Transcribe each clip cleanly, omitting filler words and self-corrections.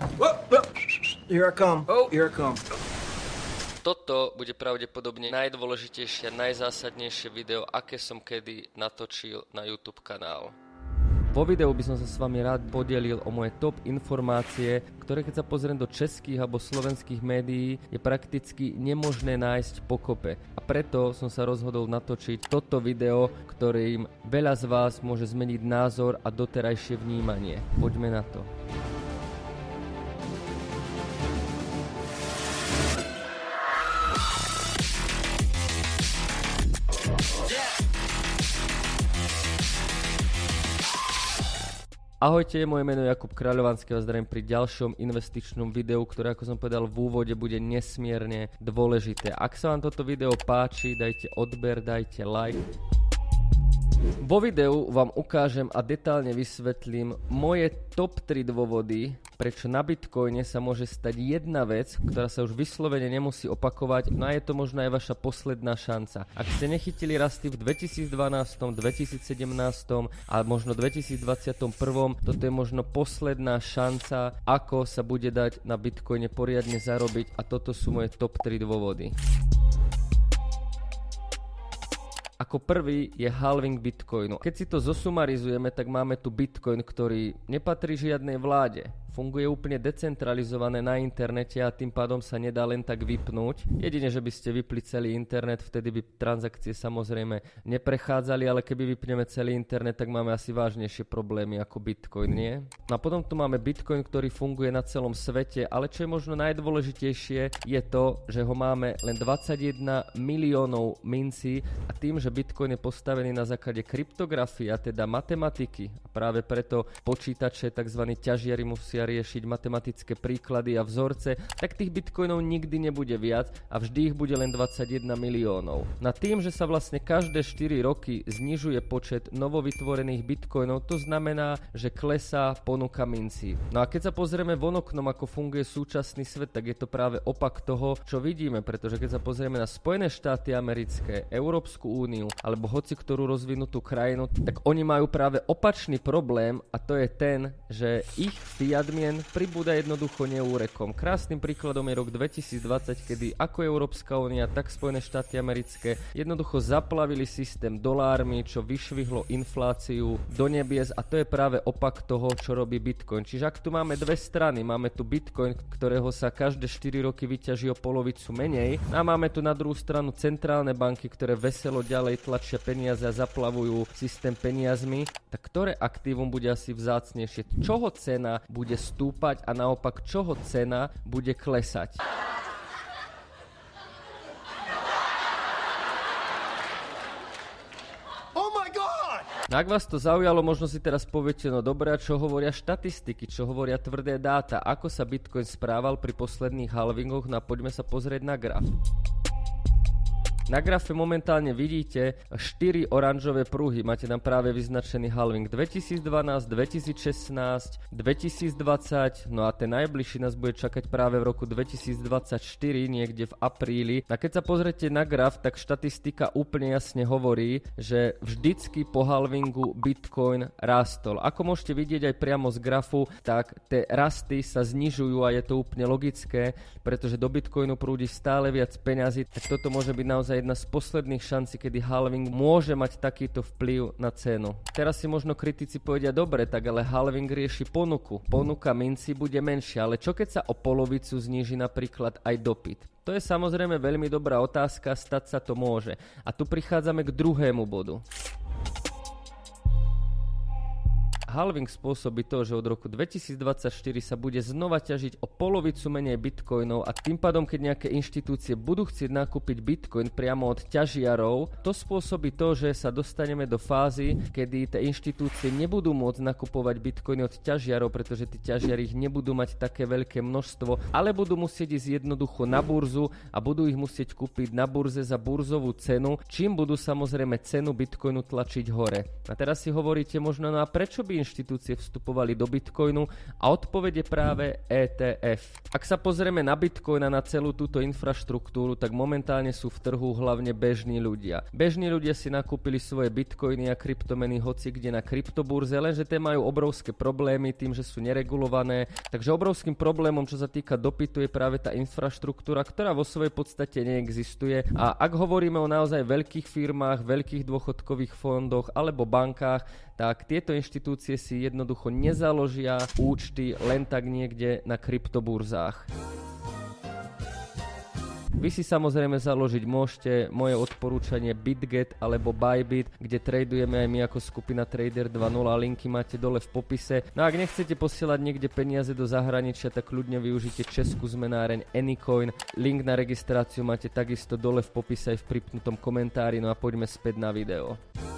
Here I come. Here I come. Toto bude pravdepodobne najdôležitejšie a najzásadnejšie video, aké som kedy natočil na YouTube kanál. Vo videu by som sa s vami rád podelil o moje top informácie, ktoré keď sa pozriem do českých alebo slovenských médií, je prakticky nemožné nájsť pokope. A preto som sa rozhodol natočiť toto video, ktorým veľa z vás môže zmeniť názor a doterajšie vnímanie. Poďme na to. Ahojte, moje meno je Jakub Kráľovanský a zdravím pri ďalšom investičnom videu, ktoré, ako som povedal v úvode, bude nesmierne dôležité. Ak sa vám toto video páči, dajte odber, dajte like. Vo videu vám ukážem a detálne vysvetlím moje top 3 dôvody, prečo na Bitcoine sa môže stať jedna vec, ktorá sa už vyslovene nemusí opakovať, no a je to možno aj vaša posledná šanca. Ak ste nechytili rasty v 2012, 2017 a možno 2021, toto je možno posledná šanca, ako sa bude dať na Bitcoine poriadne zarobiť, a toto sú moje top 3 dôvody. Ako prvý je halving Bitcoinu. Keď si to zosumarizujeme, tak máme tu Bitcoin, ktorý nepatrí žiadnej vláde. Funguje úplne decentralizované na internete a tým pádom sa nedá len tak vypnúť. Jedine, že by ste vypli celý internet, vtedy by transakcie samozrejme neprechádzali, ale keby vypneme celý internet, tak máme asi vážnejšie problémy ako Bitcoin, nie? No a potom tu máme Bitcoin, ktorý funguje na celom svete, ale čo je možno najdôležitejšie, je to, že ho máme len 21 miliónov mincí a tým, že Bitcoin je postavený na základe kryptografie, a teda matematiky, a práve preto počítače, tzv. Ťažiari musia riešiť matematické príklady a vzorce, tak tých bitcoinov nikdy nebude viac a vždy ich bude len 21 miliónov. Na tým, že sa vlastne každé 4 roky znižuje počet novovytvorených bitcoinov, to znamená, že klesá ponuka mincí. No a keď sa pozrieme von oknom, ako funguje súčasný svet, tak je to práve opak toho, čo vidíme, pretože keď sa pozrieme na Spojené štáty americké, Európsku úniu alebo hoci ktorú rozvinutú krajinu, tak oni majú práve opačný problém, a to je ten, že ich fiat mien pribúda jednoducho neúrekom. Krásnym príkladom je rok 2020, kedy ako Európska únia, tak Spojené štáty americké jednoducho zaplavili systém dolármi, čo vyšvihlo infláciu do nebies, a to je práve opak toho, čo robí Bitcoin. Čiže ak tu máme dve strany, máme tu Bitcoin, ktorého sa každé 4 roky vyťaží o polovicu menej, a máme tu na druhú stranu centrálne banky, ktoré veselo ďalej tlačia peniaze a zaplavujú systém peniazmi, tak ktoré aktívum bude asi vzácnejšie? Čoho cena bude stúpať a naopak čoho cena bude klesať? Oh my God! No ak vás to zaujalo, možno si teraz poviete, no dobré, a čo hovoria štatistiky, čo hovoria tvrdé dáta, ako sa Bitcoin správal pri posledných halvingoch, no a poďme sa pozrieť na graf. Na grafe momentálne vidíte 4 oranžové pruhy. Máte tam práve vyznačený halving 2012, 2016, 2020, no a ten najbližší nás bude čakať práve v roku 2024, niekde v apríli. A keď sa pozrete na graf, tak štatistika úplne jasne hovorí, že vždycky po halvingu Bitcoin rástol. Ako môžete vidieť aj priamo z grafu, tak tie rasty sa znižujú a je to úplne logické, pretože do Bitcoinu prúdi stále viac peňazí, tak toto môže byť naozaj jedna z posledných šancí, kedy halving môže mať takýto vplyv na cenu. Teraz si možno kritici povedia, dobre, tak ale halving rieši ponuku. Ponuka minci bude menšia, ale čo keď sa o polovicu zníži napríklad aj dopyt? To je samozrejme veľmi dobrá otázka, stať sa to môže. A tu prichádzame k druhému bodu. Halving spôsobí to, že od roku 2024 sa bude znova ťažiť o polovicu menej bitcoinov a tým pádom, keď nejaké inštitúcie budú chcieť nakúpiť bitcoin priamo od ťažiarov, to spôsobí to, že sa dostaneme do fázy, kedy tie inštitúcie nebudú môcť nakupovať bitcoiny od ťažiarov, pretože tí ťažiari ich nebudú mať také veľké množstvo, ale budú musieť ísť jednoducho na burzu a budú ich musieť kúpiť na burze za burzovú cenu, čím budú samozrejme cenu bitcoinu tlačiť hore. A teraz si hovoríte možno, no a prečo by inštitúcie vstupovali do Bitcoinu a odpoveď je práve ETF. Ak sa pozrieme na Bitcoin a na celú túto infraštruktúru, tak momentálne sú v trhu hlavne bežní ľudia. Bežní ľudia si nakúpili svoje Bitcoiny a kryptomeny hoci kde na kryptoburze, lenže tie majú obrovské problémy tým, že sú neregulované. Takže obrovským problémom, čo sa týka dopytu, je práve tá infraštruktúra, ktorá vo svojej podstate neexistuje. A ak hovoríme o naozaj veľkých firmách, veľkých dôchodkových fondoch alebo bankách, tak tieto inštitúcie si jednoducho nezaložia účty len tak niekde na kryptoburzách. Vy si samozrejme založiť môžete moje odporúčanie BitGet alebo Bybit, kde tradujeme aj my ako skupina Trader 2.0, linky máte dole v popise. No a ak nechcete posielať niekde peniaze do zahraničia, tak kľudne využite českú zmenáreň Anycoin. Link na registráciu máte takisto dole v popise aj v pripnutom komentári. No a poďme späť na video.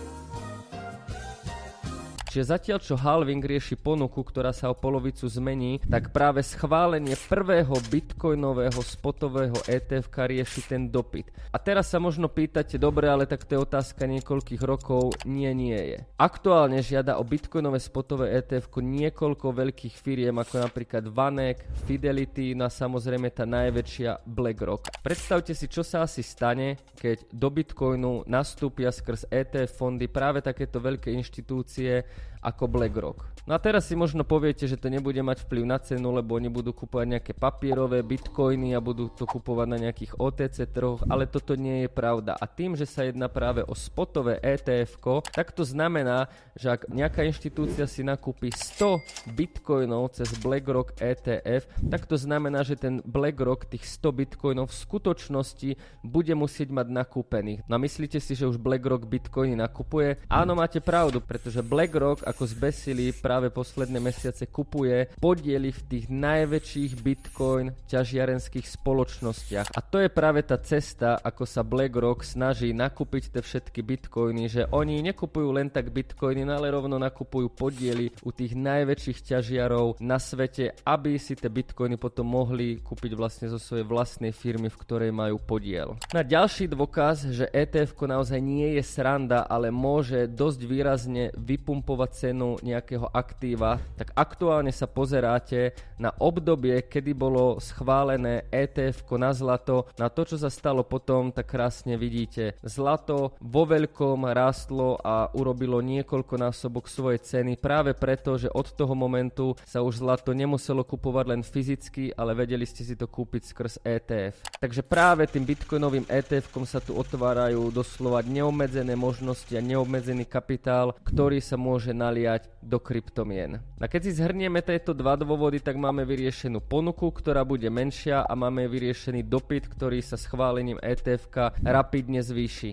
Čiže zatiaľ, čo halving rieši ponuku, ktorá sa o polovicu zmení, tak práve schválenie prvého bitcoinového spotového ETF-ka rieši ten dopyt. A teraz sa možno pýtate, dobre, ale tak to je otázka niekoľkých rokov. Nie je. Aktuálne žiada o bitcoinové spotové ETF-ko niekoľko veľkých firiem, ako napríklad Vanek, Fidelity, no a samozrejme tá najväčšia BlackRock. Predstavte si, čo sa asi stane, keď do bitcoinu nastúpia skrz ETF fondy práve takéto veľké inštitúcie ako BlackRock. No a teraz si možno poviete, že to nebude mať vplyv na cenu, lebo oni budú kupovať nejaké papierové bitcoiny a budú to kupovať na nejakých OTC trhoch, ale toto nie je pravda. A tým, že sa jedná práve o spotové ETF-ko, tak to znamená, že ak nejaká inštitúcia si nakúpi 100 bitcoinov cez BlackRock ETF, tak to znamená, že ten BlackRock tých 100 bitcoinov v skutočnosti bude musieť mať nakúpených. No a myslíte si, že už BlackRock bitcoiny nakupuje? Áno, máte pravdu, pretože BlackRock ako zbesili práve posledné mesiace kupuje podiely v tých najväčších bitcoin ťažiarenských spoločnostiach. A to je práve tá cesta, ako sa BlackRock snaží nakúpiť tie všetky bitcoiny, že oni nekupujú len tak bitcoiny, ale rovno nakupujú podiely u tých najväčších ťažiarov na svete, aby si tie bitcoiny potom mohli kúpiť vlastne zo svojej vlastnej firmy, v ktorej majú podiel. Na ďalší dôkaz, že ETF-ko naozaj nie je sranda, ale môže dosť výrazne vypumpovať cenu nejakého aktíva, tak aktuálne sa pozeráte na obdobie, kedy bolo schválené ETF-ko na zlato. Na to, čo sa stalo potom, tak krásne vidíte. Zlato vo veľkom rástlo a urobilo niekoľkonásobok svojej ceny práve preto, že od toho momentu sa už zlato nemuselo kupovať len fyzicky, ale vedeli ste si to kúpiť skrz ETF. Takže práve tým bitcoinovým ETF-kom sa tu otvárajú doslova neobmedzené možnosti a neobmedzený kapitál, ktorý sa môže naliať do kryptomien. A keď si zhrnieme tieto dva dôvody, tak máme vyriešenú ponuku, ktorá bude menšia a máme vyriešený dopyt, ktorý sa schválením ETF-ka rapidne zvýši.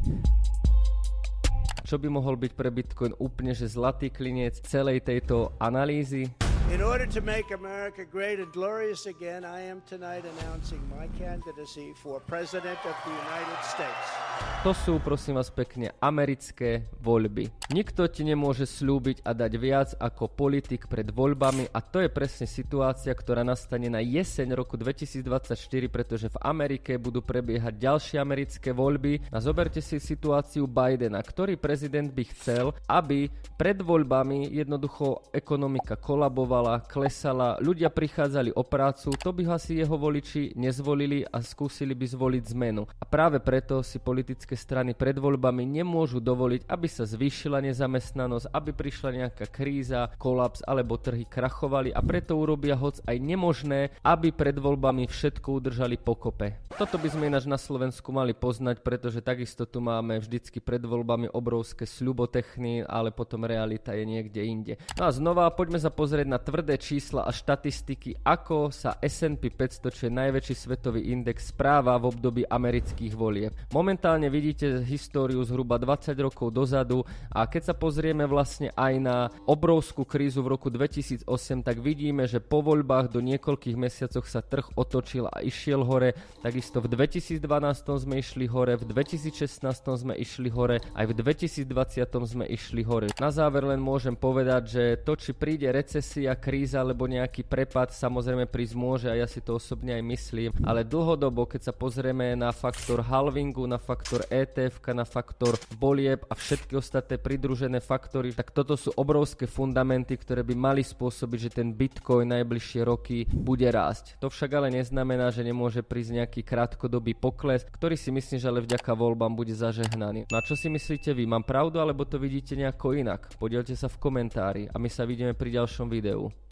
Čo by mohol byť pre Bitcoin úplne že zlatý klinec celej tejto analýzy? In order to make America great and glorious again, I am tonight announcing my candidacy for President of the United States. To sú, prosím vás pekne, americké voľby. Nikto ti nemôže slúbiť a dať viac ako politik pred voľbami a to je presne situácia, ktorá nastane na jeseň roku 2024, pretože v Amerike budú prebiehať ďalšie americké voľby. A zoberte si situáciu Bidena, ktorý prezident by chcel, aby pred voľbami jednoducho ekonomika kolabovala, klesala, ľudia prichádzali o prácu, to by asi jeho voliči nezvolili a skúsili by zvoliť zmenu. A práve preto si politické strany pred voľbami nemôžu dovoliť, aby sa zvýšila nezamestnanosť, aby prišla nejaká kríza, kolaps alebo trhy krachovali a preto urobia hoc aj nemožné, aby pred voľbami všetko udržali pokope. Toto by sme ináč na Slovensku mali poznať, pretože takisto tu máme vždycky pred voľbami obrovské sľubotechny, ale potom realita je niekde inde. No a znova poďme sa pozrieť na tvrdé čísla a štatistiky, ako sa S&P 500, čo je najväčší svetový index, správa v období amerických volieb. Momentálne vidíte históriu zhruba 20 rokov dozadu a keď sa pozrieme vlastne aj na obrovskú krízu v roku 2008, tak vidíme, že po voľbách do niekoľkých mesiacoch sa trh otočil a išiel hore. Takisto v 2012 sme išli hore, v 2016 sme išli hore, aj v 2020 sme išli hore. Na záver len môžem povedať, že to, či príde recesia, nejaká kríza alebo nejaký prepad samozrejme prísť môže a ja si to osobne aj myslím, ale dlhodobo, keď sa pozrieme na faktor halvingu, na faktor ETF, na faktor volieb a všetky ostatné pridružené faktory, tak toto sú obrovské fundamenty, ktoré by mali spôsobiť, že ten Bitcoin najbližšie roky bude rásť. To však ale neznamená, že nemôže prísť nejaký krátkodobý pokles, ktorý si myslím, že ale vďaka voľbám bude zažehnaný. No a čo si myslíte vy? Mám pravdu alebo to vidíte nejako inak? Podielte sa v komentári a my sa vidíme pri ďalšom videu.